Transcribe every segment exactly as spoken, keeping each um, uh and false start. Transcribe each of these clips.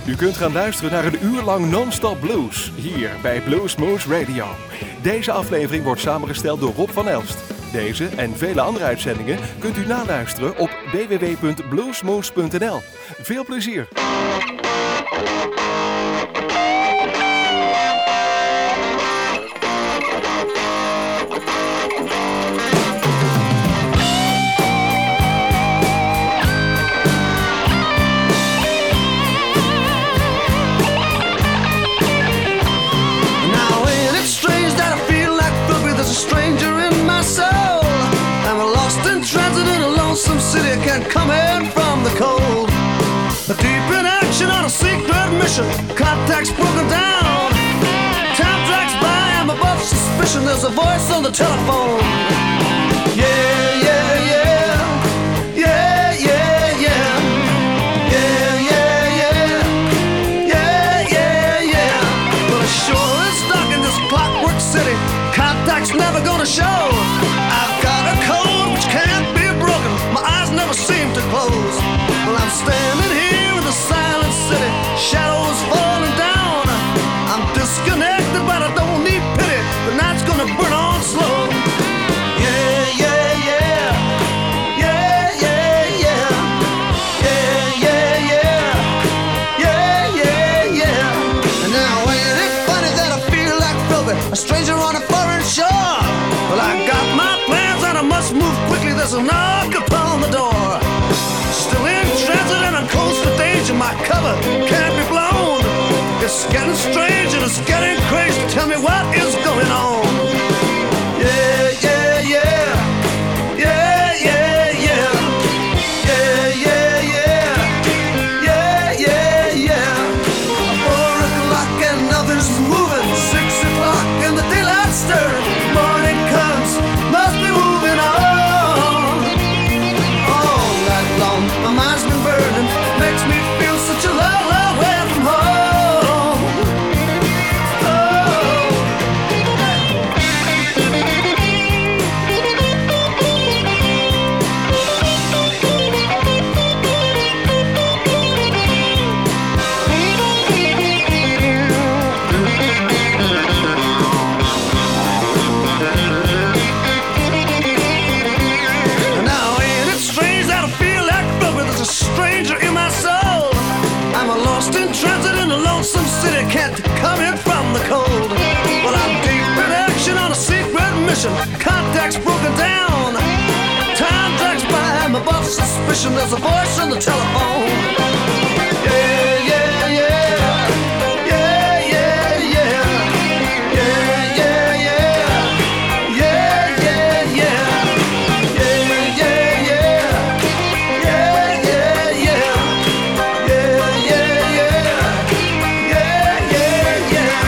U kunt gaan luisteren naar een uur lang non-stop blues, hier bij Bluesmoose Radio. Deze aflevering wordt samengesteld door Rob van Elst. Deze en vele andere uitzendingen kunt u naluisteren op w w w punt bluesmoose punt n l. Veel plezier! Some city can't come in from the cold. Deep in action on a secret mission. Contacts broken down. Time drags by, I'm above suspicion. There's a voice on the telephone. Yeah, yeah, yeah. Yeah, yeah, yeah. Yeah, yeah, yeah. Yeah, yeah, yeah. Well, it sure is dark in this clockwork city. Contacts never gonna show. I've got a code which can't be broken. My eyes never seem to close. Well, I'm standing here in the silent city. Shadows falling down. I'm disconnected, but I don't need pity. The night's gonna burn on slow. Yeah, yeah, yeah. Yeah, yeah, yeah. Yeah, yeah, yeah. Yeah, yeah, yeah. And now ain't it funny that I feel like Philby, a stranger on a foreign shore? Well, I got my plans and I must move quickly. There's a knock upon the door. Still in transit and I'm close to danger. My cover can't be blown. It's getting strange and it's getting crazy. Tell me what is going on. Yeah, yeah, yeah. Yeah, yeah, yeah. Yeah, yeah, yeah. Yeah, yeah, yeah. Four o'clock and nothing's moving. Six o'clock and the daylight stirred. Morning comes, must be moving on. All night long, my mind's been burning. Makes me feel such a long, long way from home. Oh. Now ain't it strange that I feel like Philby, there's a stranger in my soul. I'm a lost in transit in a lonesome city, can't come in from the cold. Well, I'm deep in action on a secret mission. Contacts broken down. Time drags by, I'm above suspicion. There's a voice on the telephone. Yeah, yeah, yeah. Yeah, yeah, yeah. Yeah, yeah, yeah. Yeah, yeah, yeah. Yeah, yeah, yeah. Yeah, yeah, yeah. Yeah, yeah, yeah. Yeah, yeah, yeah.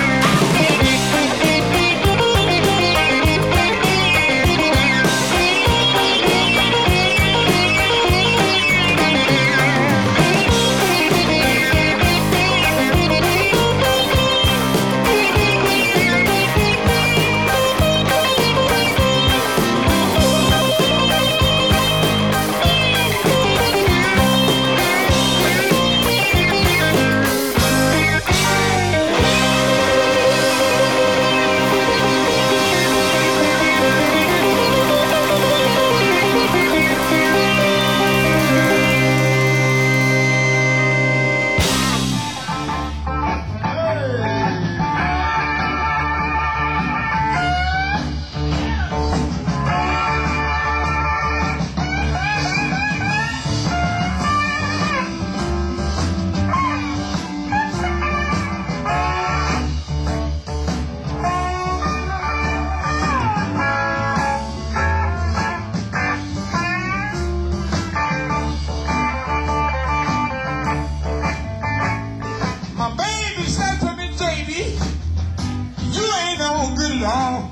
My baby said to me, J B, you ain't no good at all.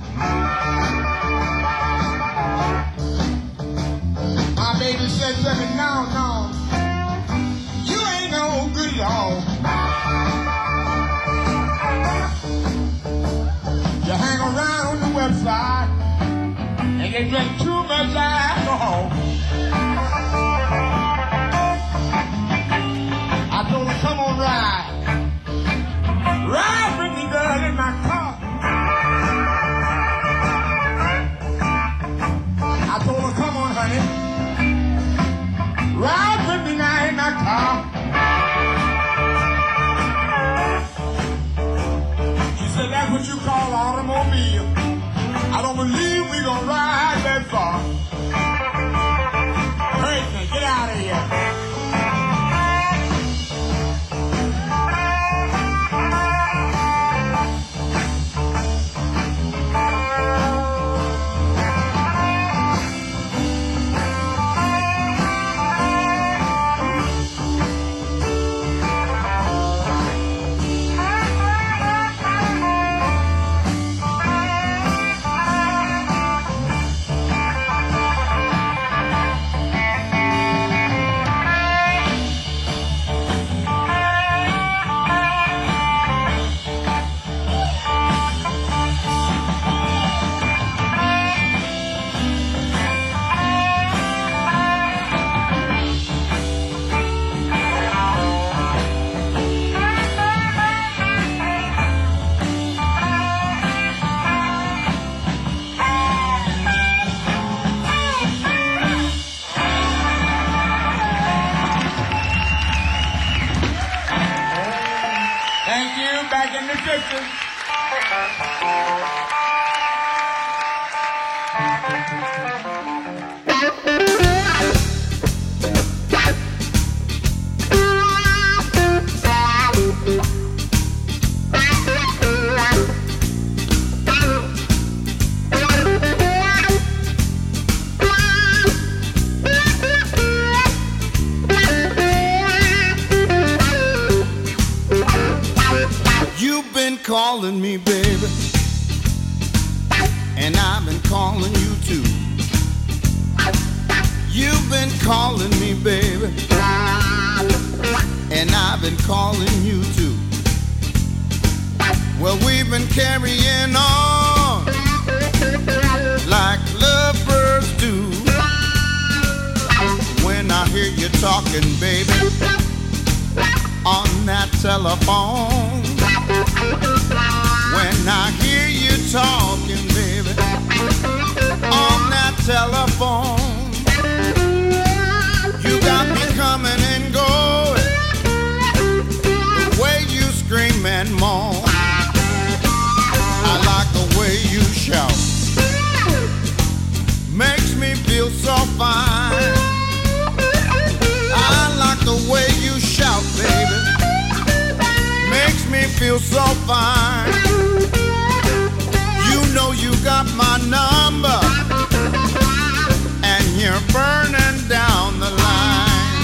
My baby said to me, no, no, you ain't no good at all. You hang around on the website and you drink too much alcohol. I told her, come on, ride. ride with me now in my car. She said, that's what you call automobile. I don't believe we gonna ride that far. Hurry, get out of here. Calling me, baby, and I've been calling you too. You've been calling me, baby, and I've been calling you too. Well, we've been carrying on like lovebirds do. When I hear you talking, baby, on that telephone. When I hear you talking, baby, on that telephone, you got me coming and going, the way you scream and moan. I like the way you shout, makes me feel so fine. I like the way you shout, baby, makes me feel so fine. You know you got my number, and you're burning down the line.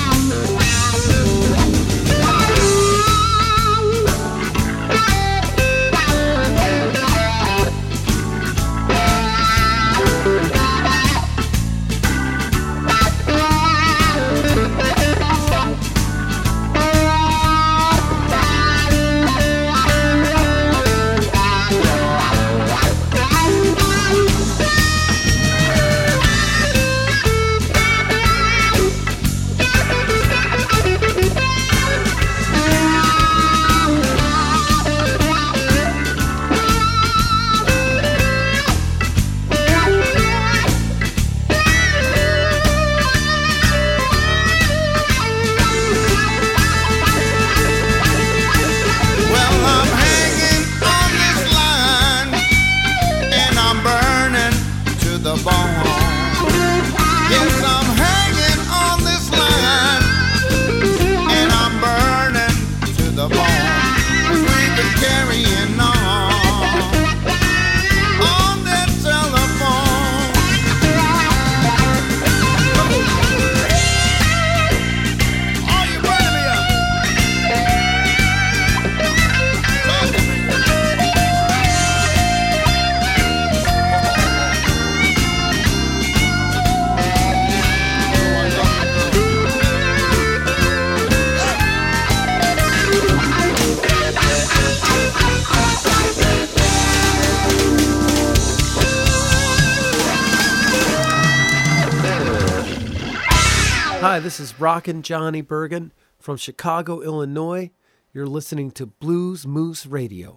Hi, this is Rockin' Johnny Bergen from Chicago, Illinois. You're listening to Blues Moose Radio.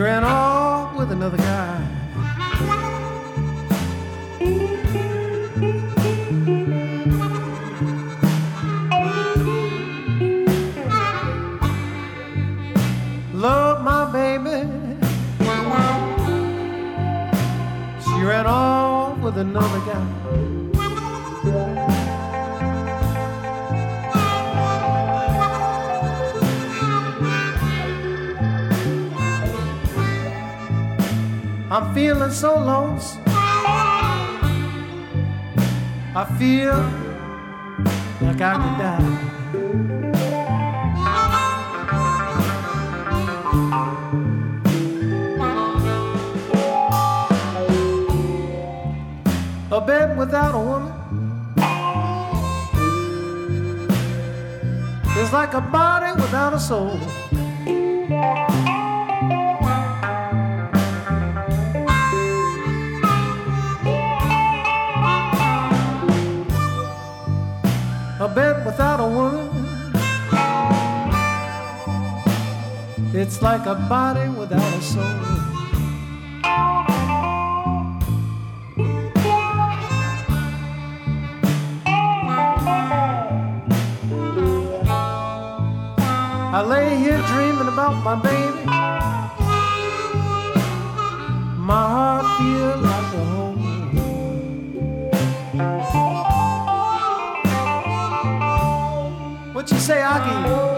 She ran off with another guy. Love my baby. She ran off with another guy. I'm feeling so lost. I feel like I could die. A bed without a woman is like a body without a soul. A bed without a woman, it's like a body without a soul. I lay here dreaming about my baby. My heart feels like a home. What you say, Aki?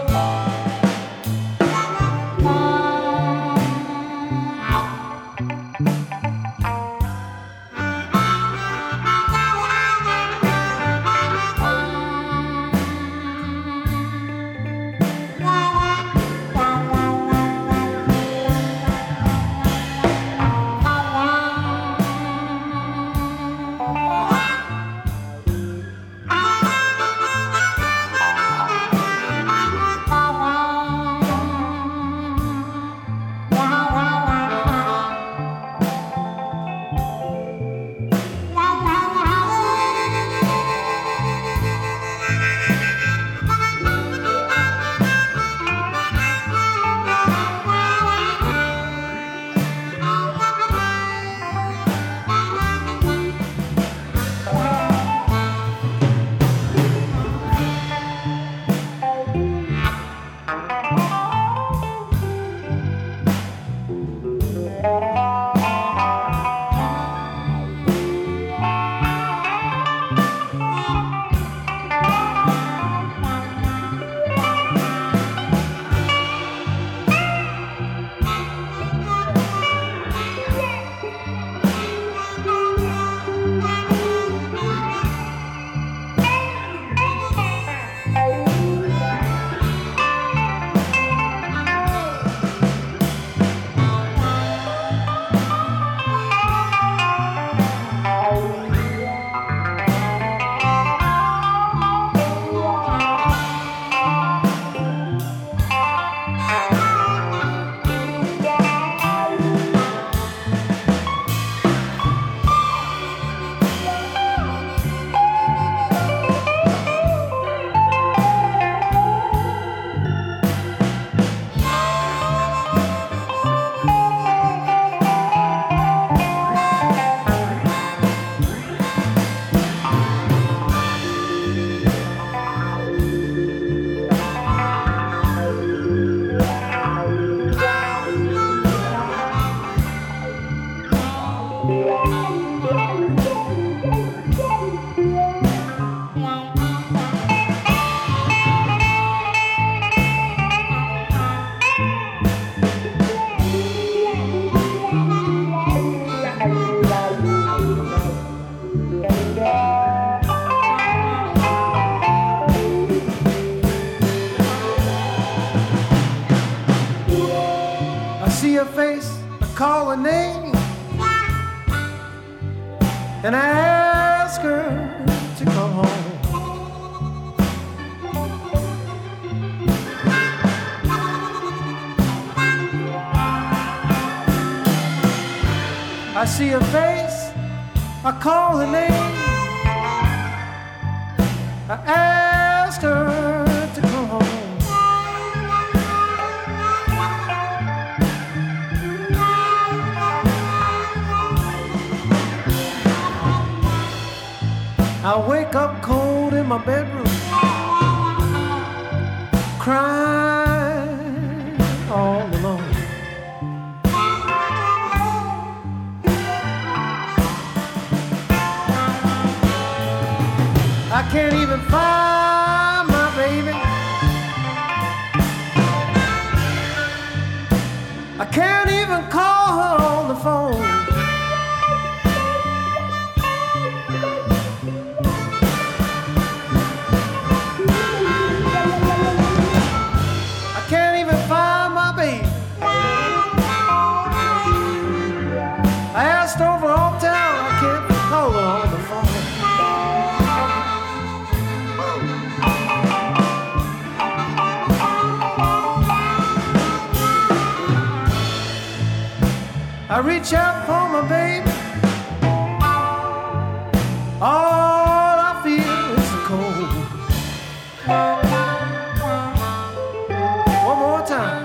Call her name and I ask her to come home. I see her face, I call her name, I ask her to come home. I wake up cold in my bedroom, crying all alone. I can't even find my baby. I can't even call her on the phone. I can't even find my baby. I asked over all town, I can't call her on the phone. I reach out for my baby. All I feel is the cold. One more time.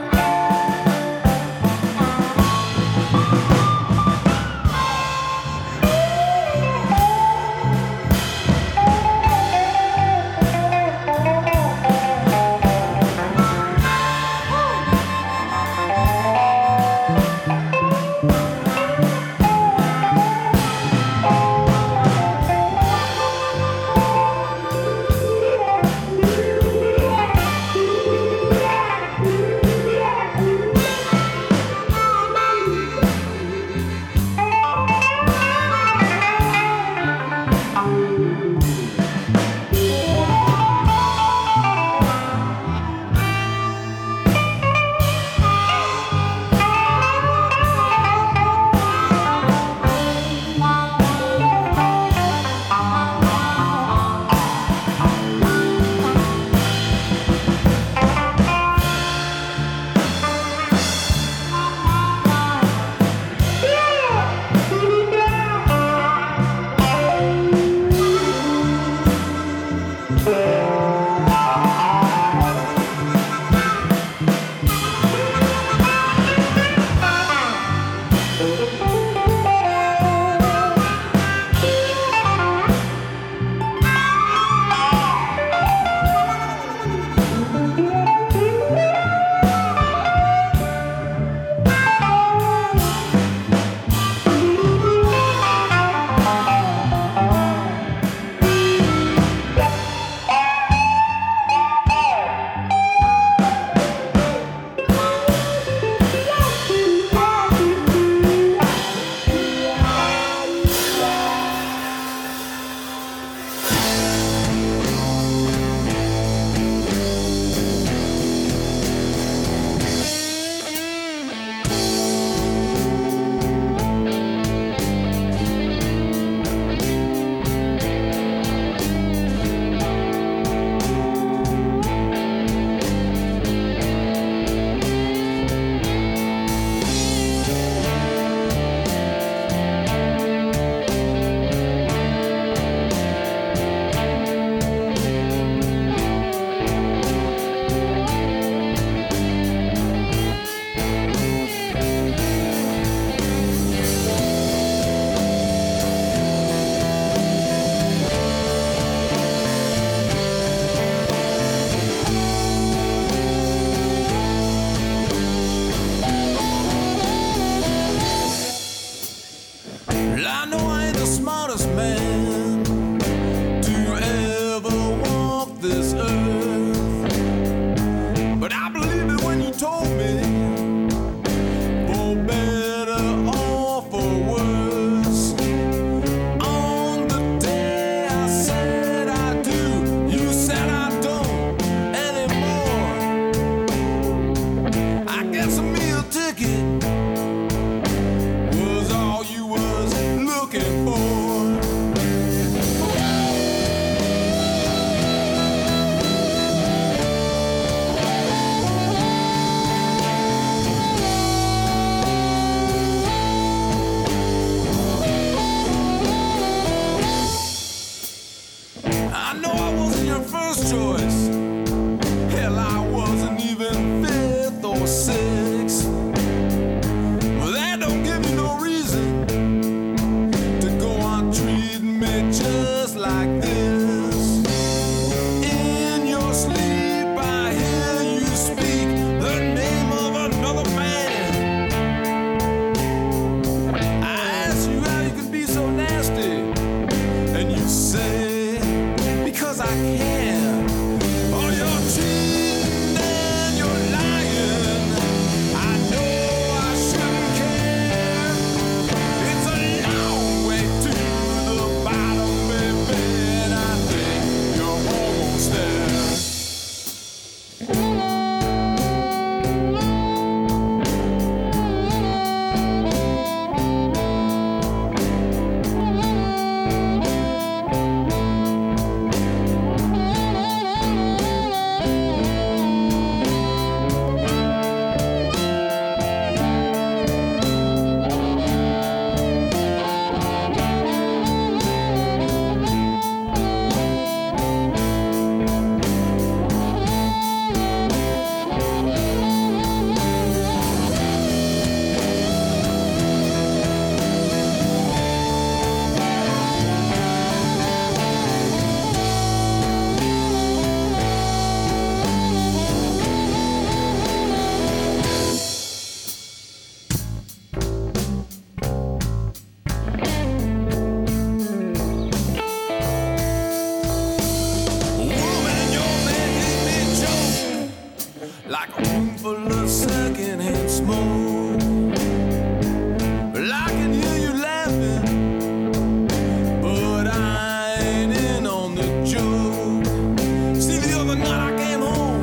room full of secondhand smoke. Well, I can hear you laughing, but I ain't in on the joke. See, the other night I came home,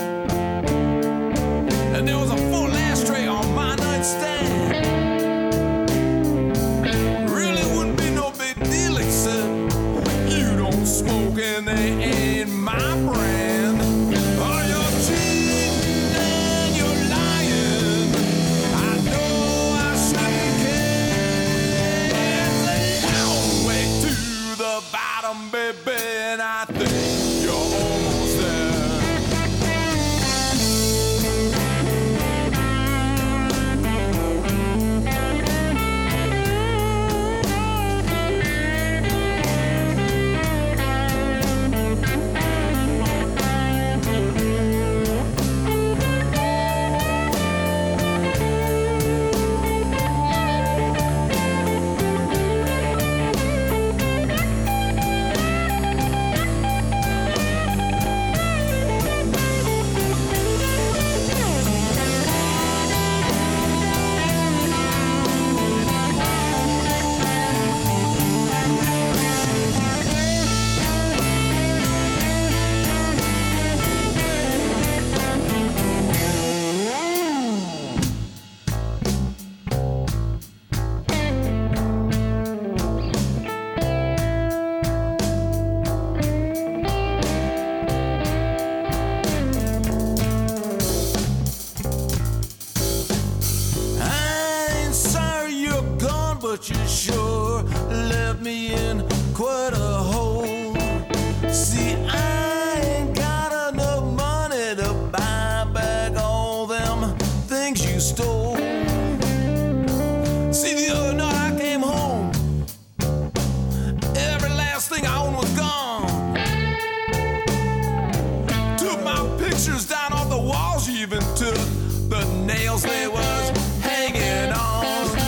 and there was a full ashtray on my nightstand. Really wouldn't be no big deal except you don't smoke and they ain't my brand. Oh, you're cheating and you're lying. I know I shouldn't care. It's a long way to the bottom, baby, and I think you're almost there. But you sure left me in quite a hole. See, I ain't got enough money to buy back all them things you stole. See, the other night I came home, every last thing I owned was gone. Took my pictures down off the walls, you even took the nails they was hanging on.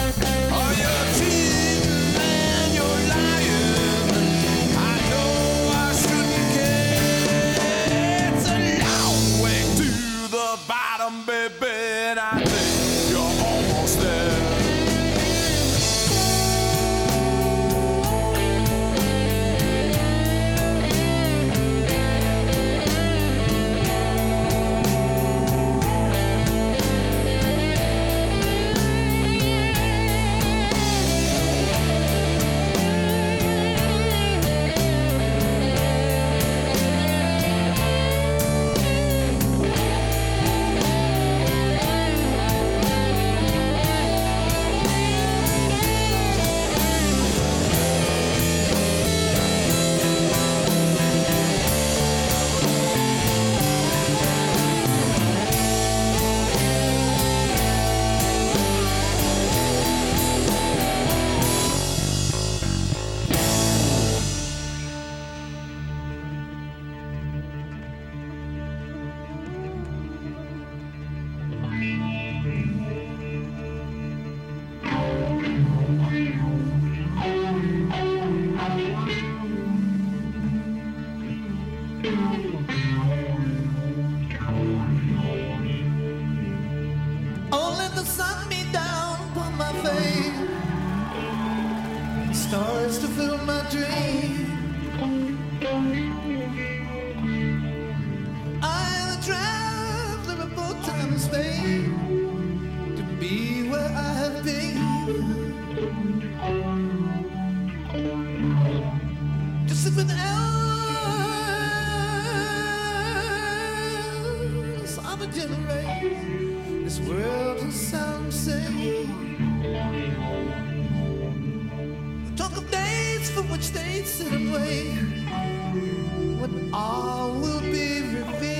Baby, and I think you're almost there. Stars to fill my dream. I travel about time and space to be where I have been. To sit with elders of a generation. This world will sound same. Talk of days for which they sit and wait, when all will be revealed.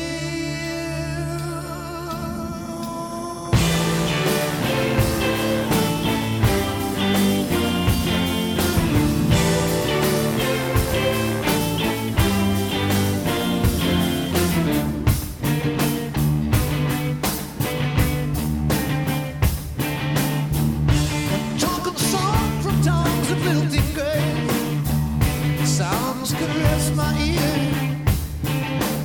Talk of the song from towns of building graves, sounds caress my ear.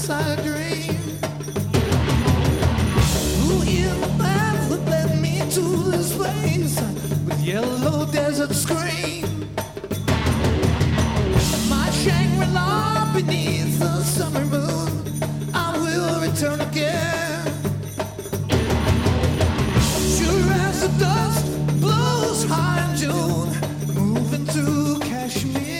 nights I dream. Who in the path that led me to this place with yellow desert screen? My Shangri-La beneath the summer moon, I will return again. Sure as the dust blows high in June, moving through Kashmir.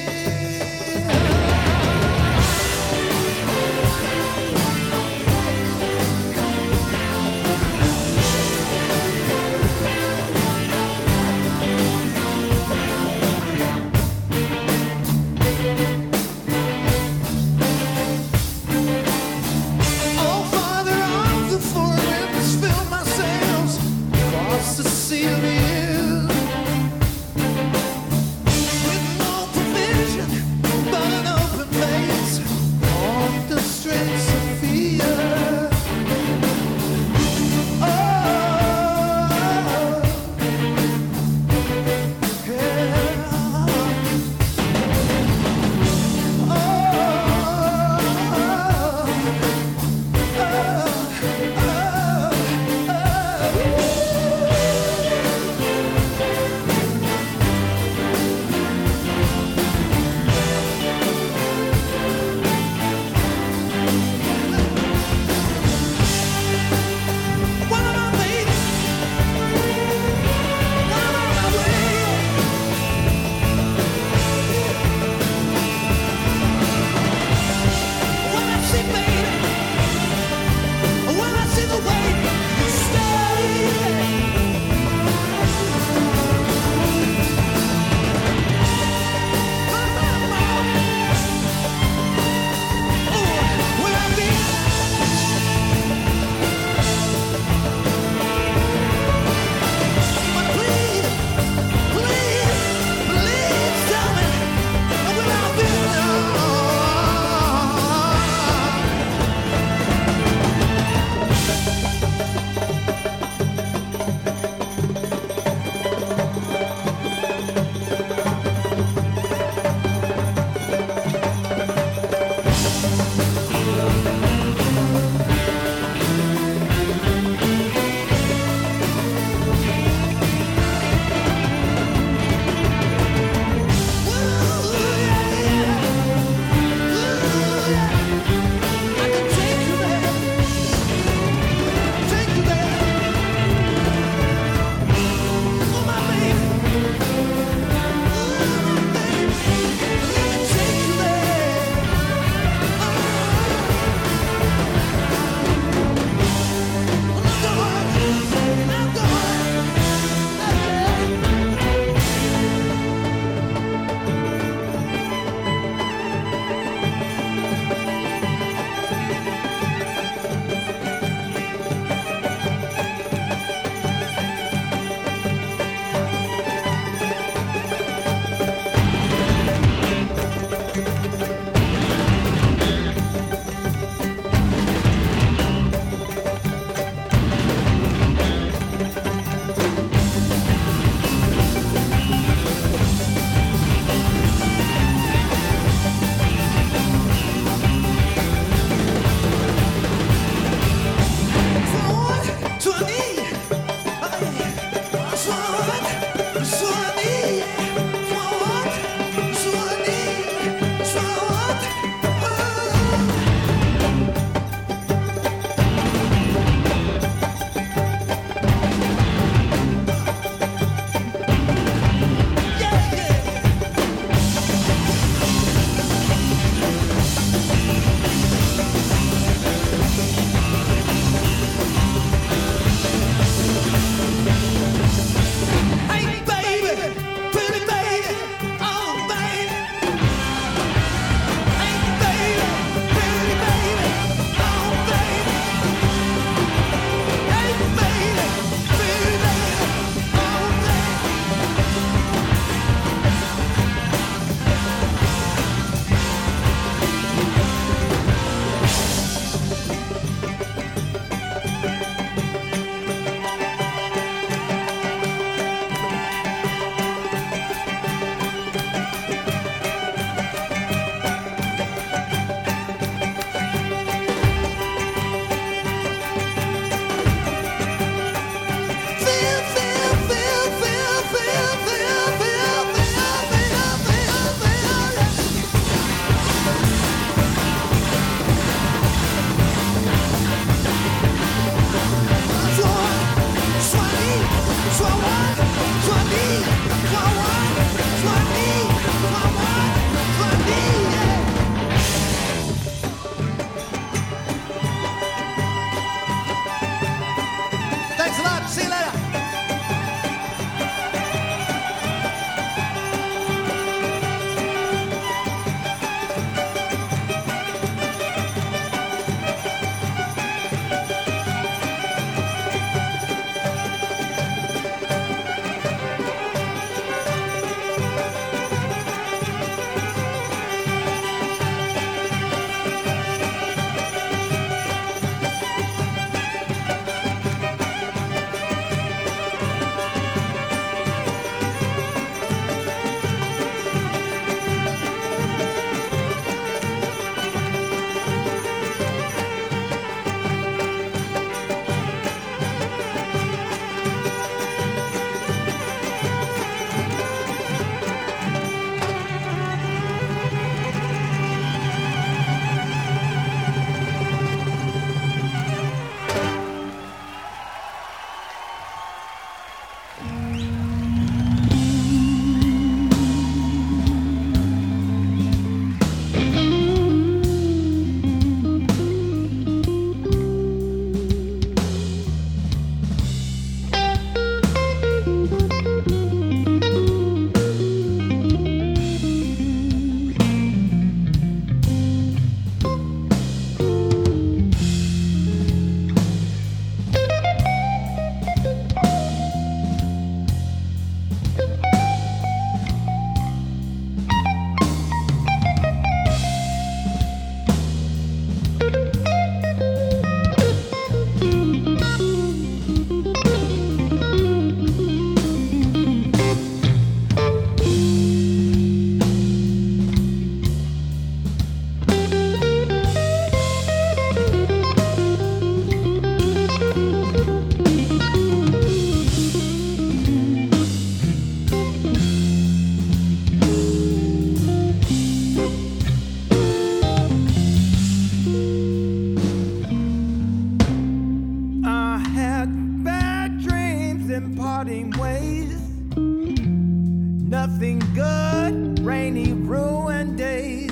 nothing good, rainy, ruined days.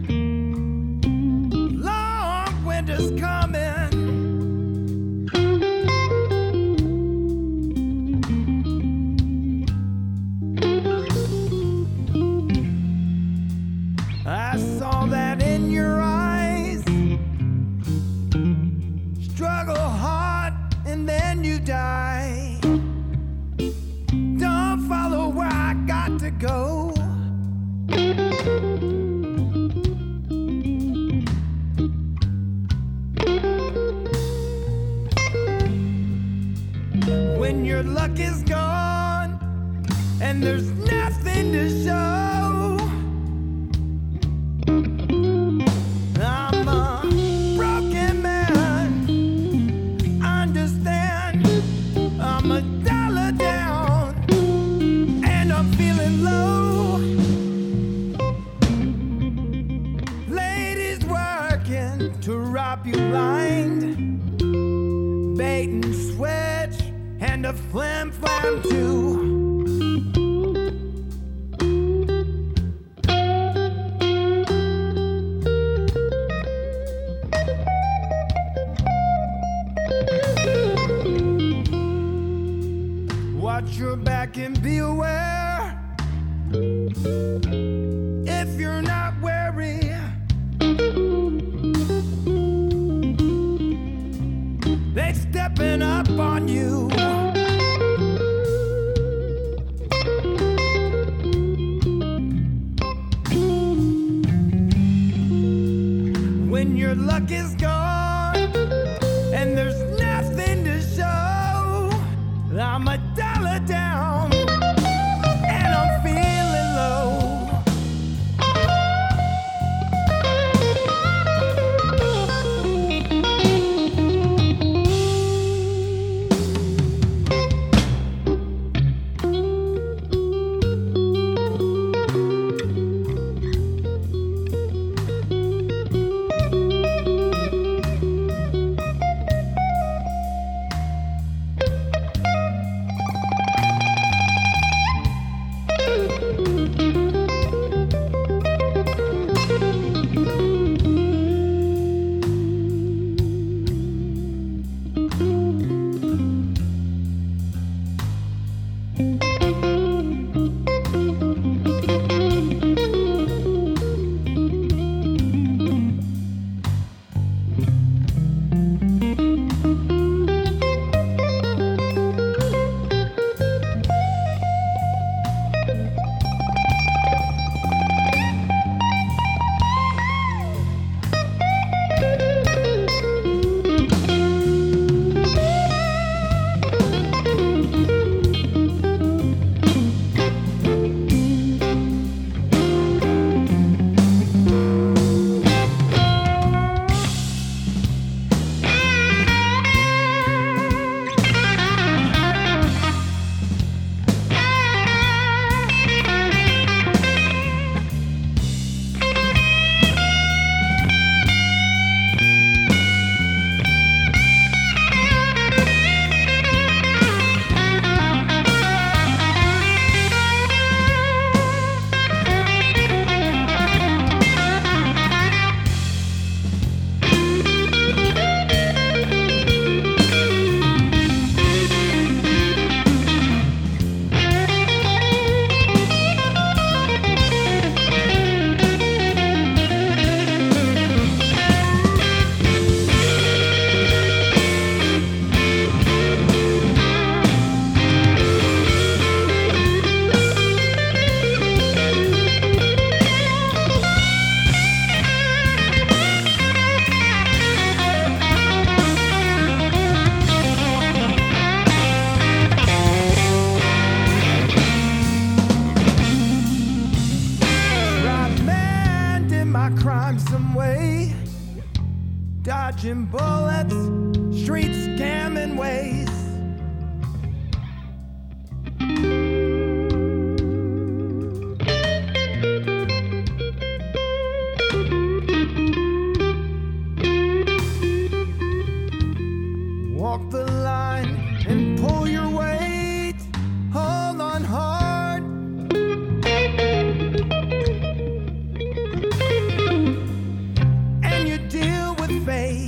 Long winter's coming. I saw that in your eyes. Struggle hard and then you die. Don't follow where I got to go. When your luck is gone and there's nothing to show, I'm a broken man. Understand, I'm a dollar down and I'm feeling low. Ladies working to rob you blind, bait and switch and a flim flam too. Watch your back and be aware. If you're not wary, they stepping up on you. When your luck is gone and there's nothing to show, I'm a dollar down and I'm feeling low. dodging bullets, street scamming ways. Walk the line and pull your weight. Hold on hard. And you deal with fate.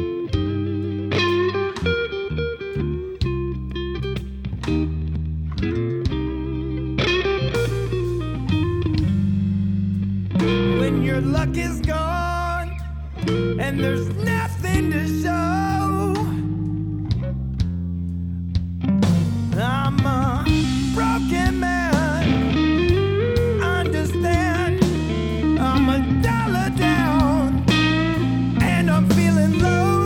When your luck is gone and there's nothing to show, I'm a broken man, understand, I'm a dollar down, and I'm feeling low.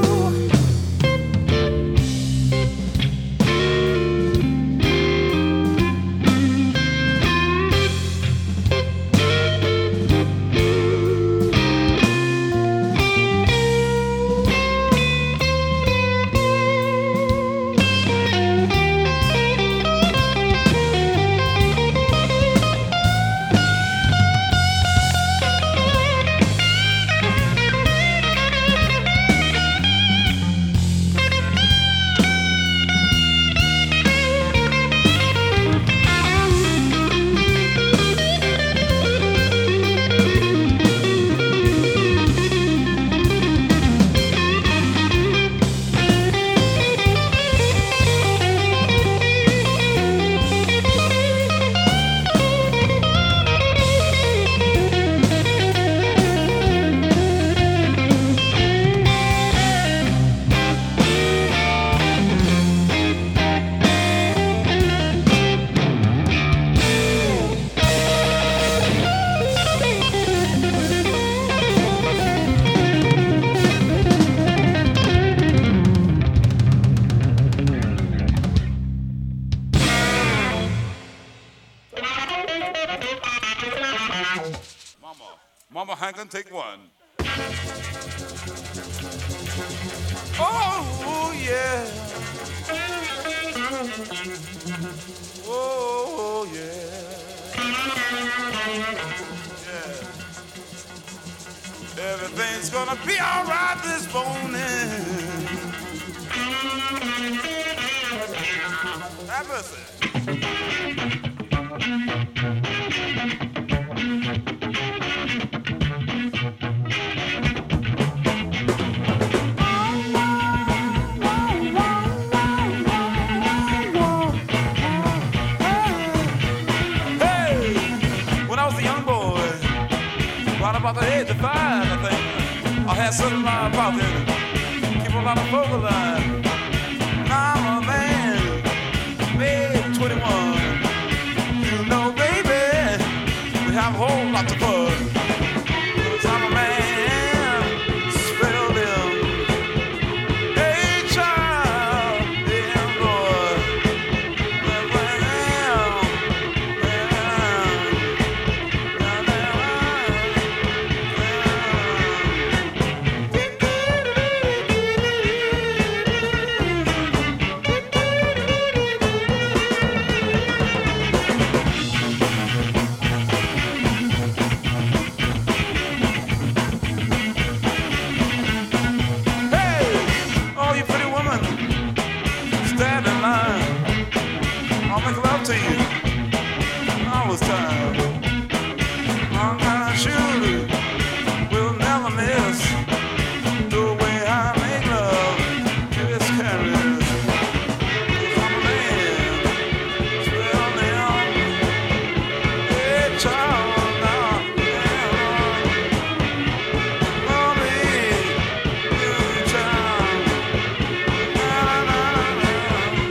Mama Hankin, take one. Oh, yeah. Oh, yeah. Yeah. Everything's gonna be all right this morning. Have mercy. Oh, about the age of five, I think. I had certain line about it. Keep a lot of vocal line. Now I'm a man, maybe twenty-one. You know, baby, we have a whole lot of fun. 'Cause I'm a man, spread a limb. Hey, child, yeah, boy. Well, well, to you. All this time. I'm kind of sure we'll never miss the way I make love to this carriage. 'Cause I'm a man, swell down. Hey, child, now, yeah. Oh, me, you child. Na, na, na, na.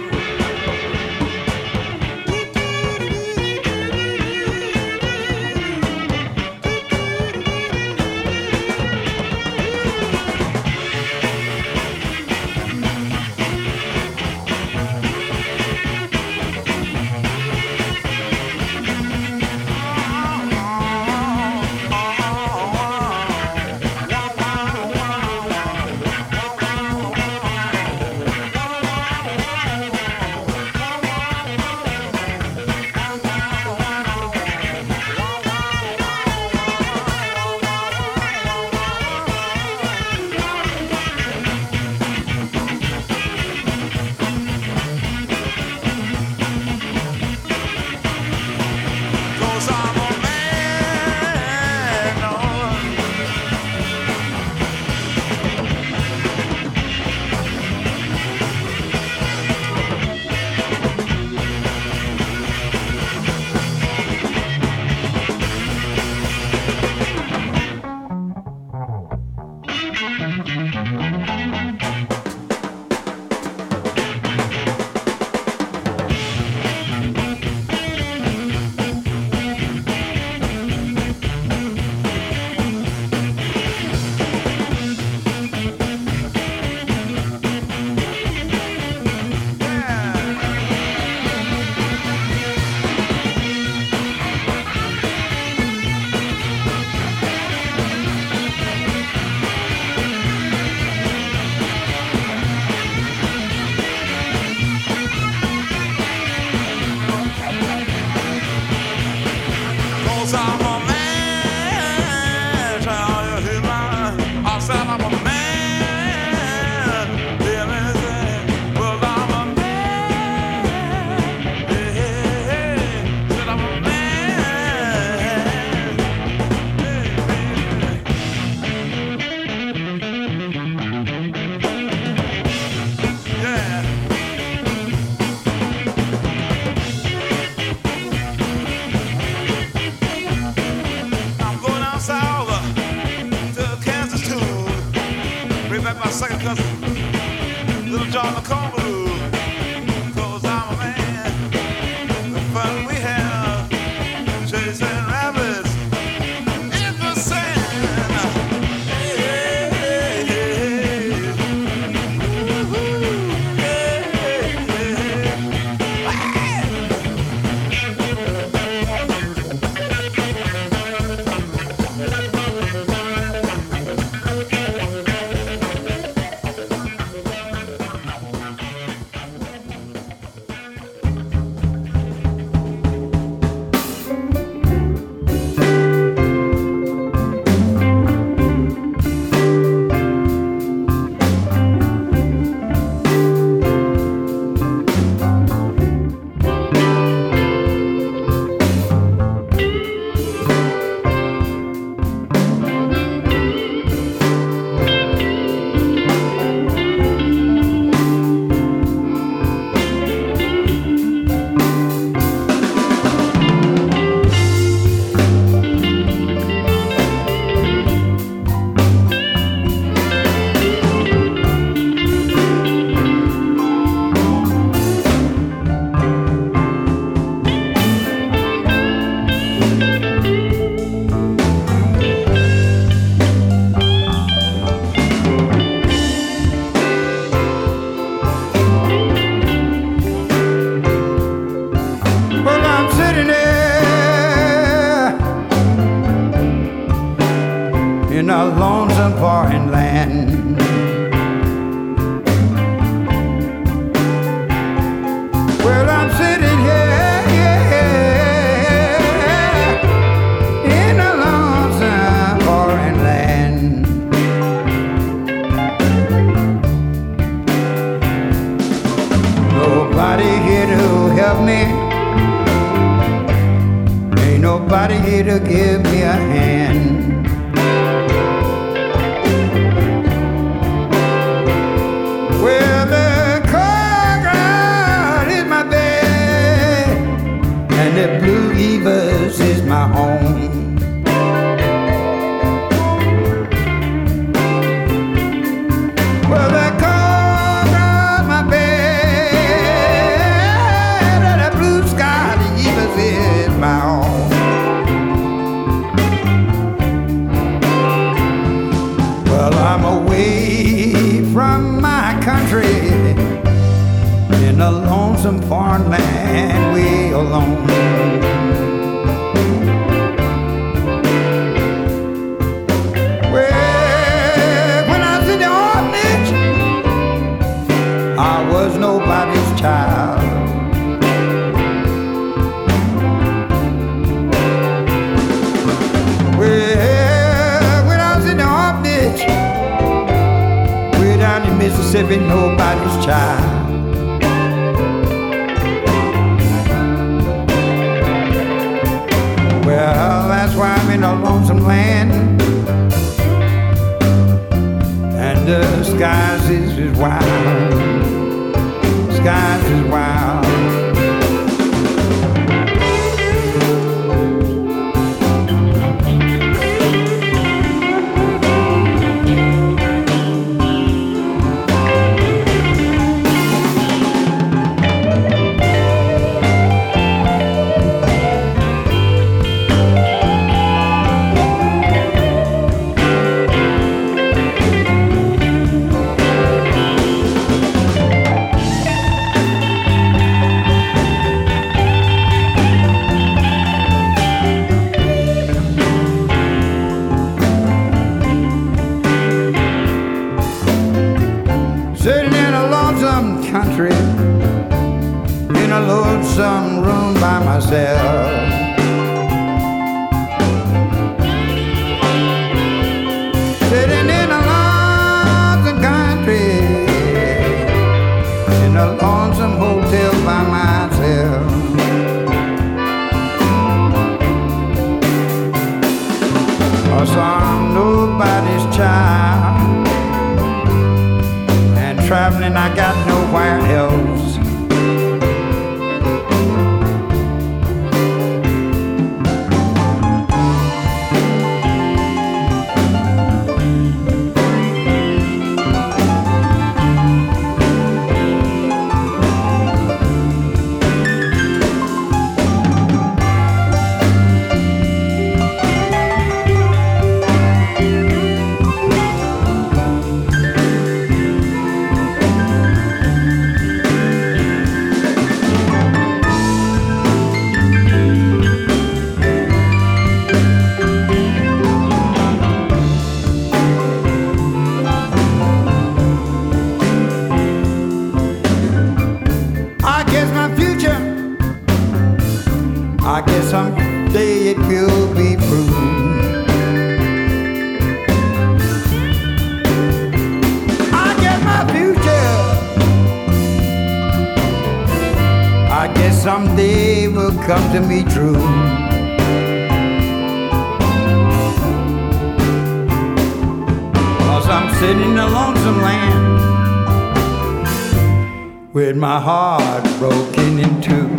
My second cousin, Little John McCombie, 'cause I'm a man. The fun we have chasing rabbits in the sand. Hey, hey, hey, hey. Ooh, hey, hey, hey. nobody here to give me a hand. Well, the courtyard is my bed, and the Blue Evers is my home. Well, the courtyard, my bed, and the blue sky, the Evers is my home. Well, I'm away from my country in a lonesome foreign land, way alone. Well, when I was in the orphanage, I was nobody's child. Well, when I was in the orphanage, way down in Mississippi, nobody's child. Well, that's why I'm in a lonesome land, and the skies is, is wild, skies is wild. Sitting in a lonesome country, in a lonesome room by myself. Sitting in a lonesome country, in a lonesome hotel by myself. Cause I'm nobody's child, traveling, I got nowhere else. I guess someday it will be proven. I guess my future, I guess someday will come to me true. Cause I'm sitting in a lonesome land with my heart broken in two.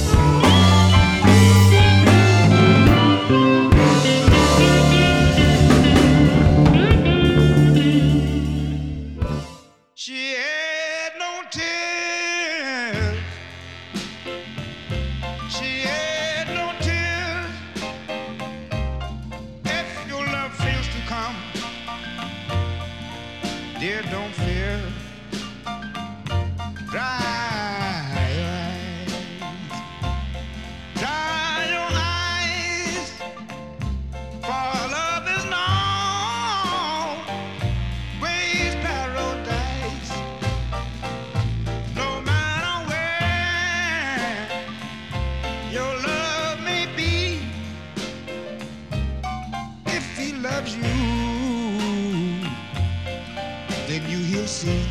Dear, don't fear. Dry your eyes. Dry your eyes. For love is no ways paradise. No matter where your love may be, if he loves you, then you he'll see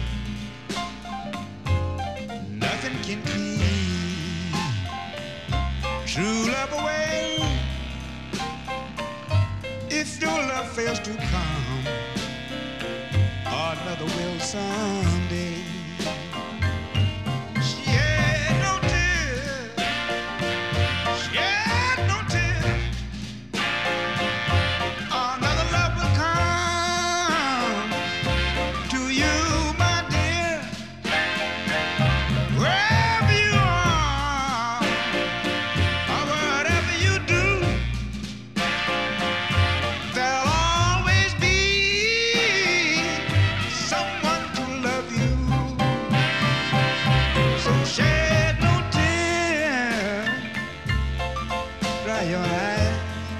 nothing can keep true love away if your love fails to come, another will someday. Shed no tears, shed no tears. Another love will come to you, my dear. Wherever you are, or whatever you do, there'll always be someone to love you. So shed no tear, dry your eyes.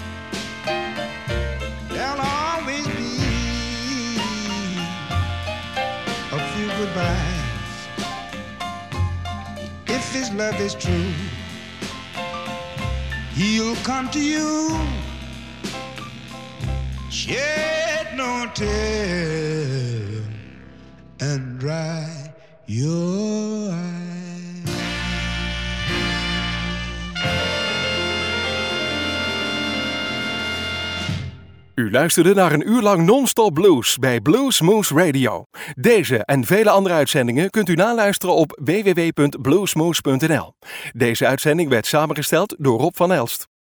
There'll always be a few goodbyes. If his love is true, he'll come to you. Shed no tear and dry your eyes. U luisterde naar een uur lang non-stop blues bij Blues Moose Radio. Deze en vele andere uitzendingen kunt u naluisteren op w w w punt bluesmoose punt n l. Deze uitzending werd samengesteld door Rob van Elst.